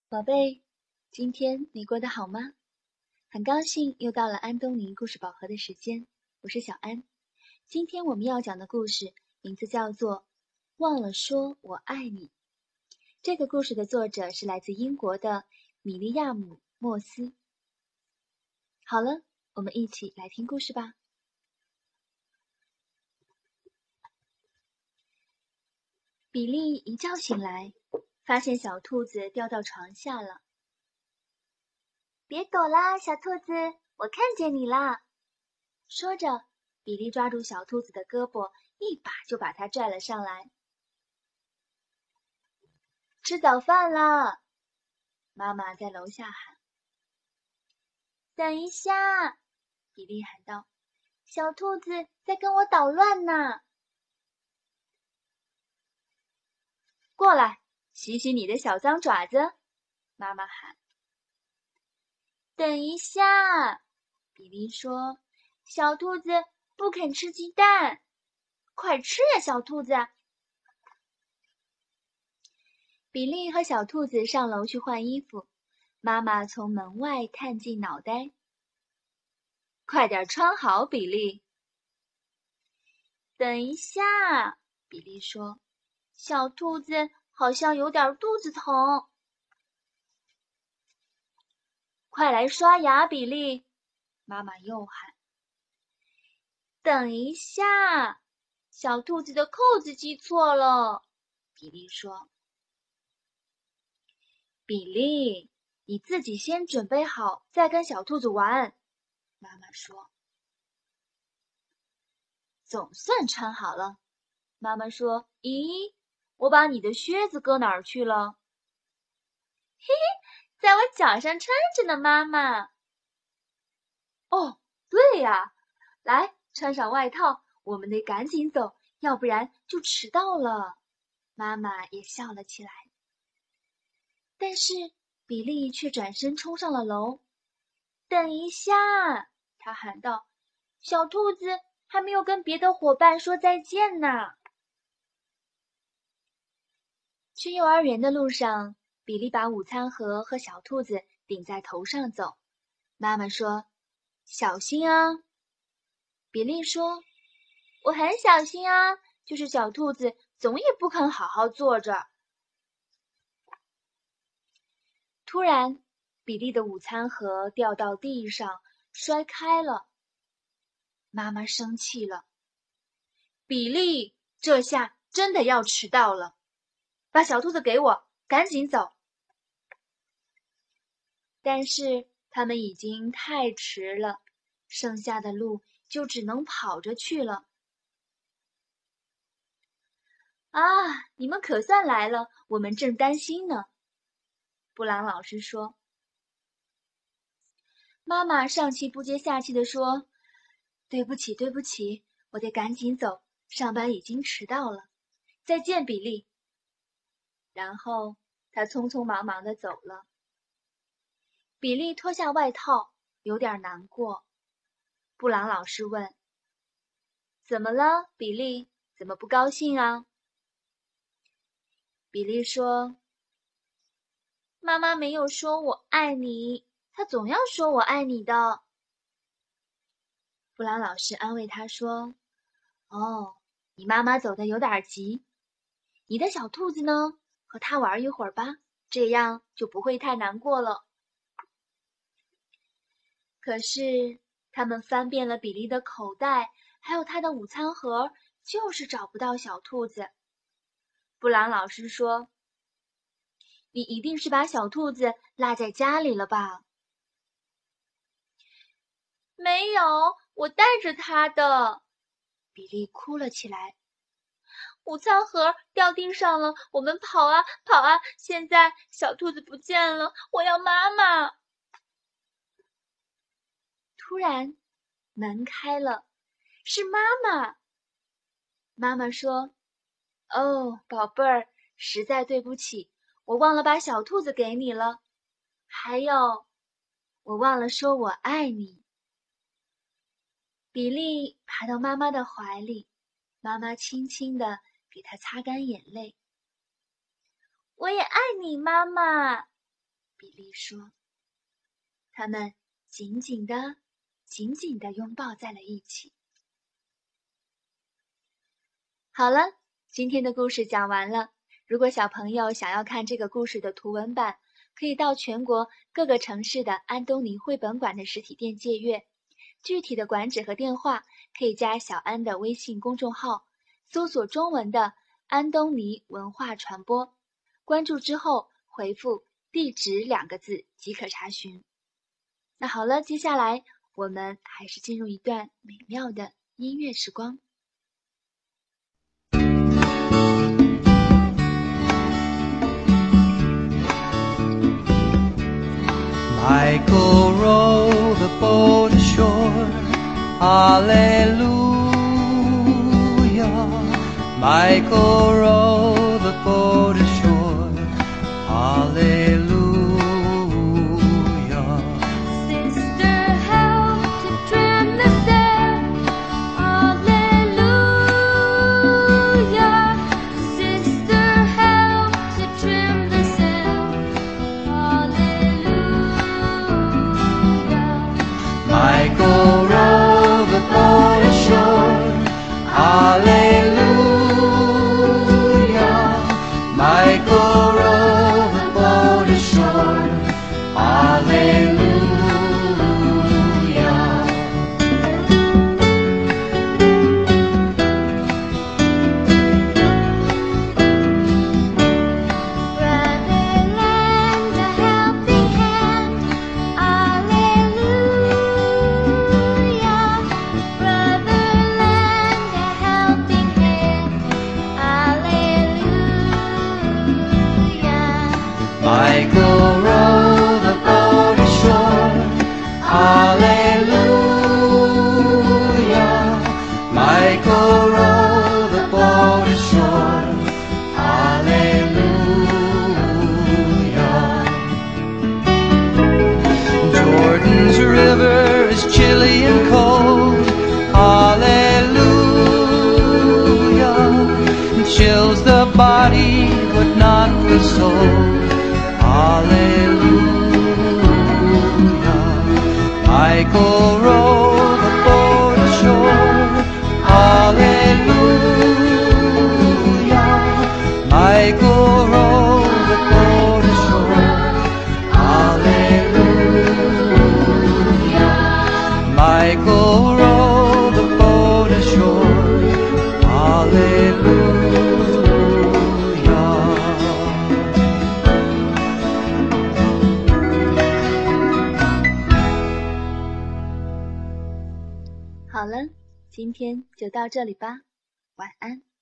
宝贝，今天你过得好吗？很高兴又到了安东尼故事宝盒的时间，我是小安。今天我们要讲的故事名字叫做《忘了说我爱你》。这个故事的作者是来自英国的米利亚姆·莫斯。好了，我们一起来听故事吧。比利一觉醒来，发现小兔子掉到床下了。 别躲啦，小兔子，我看见你啦！ 说着，比利抓住小兔子的胳膊，一把就把它拽了上来。吃早饭啦！妈妈在楼下喊。 等一下， 比利喊道， 小兔子在跟我捣乱呢。 过来，洗洗你的小脏爪子！妈妈喊。 等一下， 比利说， 小兔子不肯吃鸡蛋，快吃呀，小兔子！ 比利和小兔子上楼去换衣服，妈妈从门外探进脑袋。快点穿好，比利！ 等一下， 比利说， 小兔子好像有点肚子疼。 快来刷牙，比利！妈妈又喊。 等一下，小兔子的扣子系错了。 比利说。比利，你自己先准备好，再跟小兔子玩。妈妈说。总算穿好了。妈妈说，咦，我把你的靴子搁哪儿去了？ 嘿嘿，在我脚上穿着呢，妈妈。 哦，对呀，来，穿上外套，我们得赶紧走，要不然就迟到了。妈妈也笑了起来。但是比利却转身冲上了楼。 等一下，他喊道，小兔子还没有跟别的伙伴说再见呢。 去幼儿园的路上，比利把午餐盒和小兔子顶在头上走。妈妈说，小心啊。比利说， 我很小心啊，就是小兔子总也不肯好好坐着。 突然，比利的午餐盒掉到地上，摔开了。妈妈生气了。比利，这下真的要迟到了。把小兔子给我，赶紧走。但是他们已经太迟了，剩下的路就只能跑着去了。啊，你们可算来了，我们正担心呢。布朗老师说。妈妈上气不接下气地说，对不起，对不起，我得赶紧走，上班已经迟到了。再见，比利。然后他匆匆忙忙地走了。比利脱下外套，有点难过。布朗老师问，怎么了，比利？怎么不高兴啊？比利说， 妈妈没有说我爱你，她总要说我爱你的。 布朗老师安慰他说，哦，你妈妈走得有点急。你的小兔子呢？和它玩一会儿吧，这样就不会太难过了。可是他们翻遍了比利的口袋，还有他的午餐盒，就是找不到小兔子。布朗老师说，你一定是把小兔子落在家里了吧？ 没有，我带着它的。 比利哭了起来。 午餐盒掉地上了，我们跑啊跑啊，现在小兔子不见了，我要妈妈。 突然，门开了，是妈妈。妈妈说，哦，宝贝儿，实在对不起，我忘了把小兔子给你了。还有，我忘了说我爱你。比利爬到妈妈的怀里，妈妈轻轻地给他擦干眼泪。 我也爱你，妈妈。 比利说。他们紧紧地拥抱在了一起。好了，今天的故事讲完了。如果小朋友想要看这个故事的图文版，可以到全国各个城市的安东尼绘本馆的实体店借阅。具体的馆址和电话可以加小安的微信公众号，搜索中文的安东尼文化传播，关注之后回复地址2个字即可查询。那好了，接下来我们还是进入一段美妙的音乐时光。 Michael row the boat ashore, hallelujah. Michael row the boat ashore, hallelujah. Sister, help to trim the sail, hallelujah. Sister, help to trim the sail, hallelujah. Michael row the boat ashore, hallelujah. Michael row the boat ashore, hallelujah. Brother, lend a helping hand, hallelujah. Brother, lend a helping hand, hallelujah. Michael row the boat ashore, hallelujah. Michael row the boat ashore, hallelujah. Jordan's river is chilly and cold, hallelujah. It chills the body but not the soul, hallelujah. Michael row the boat ashore, hallelujah. Michael row the boat ashore, hallelujah. Michael row the boat ashore, hallelujah. 好了，今天就到这里吧，晚安。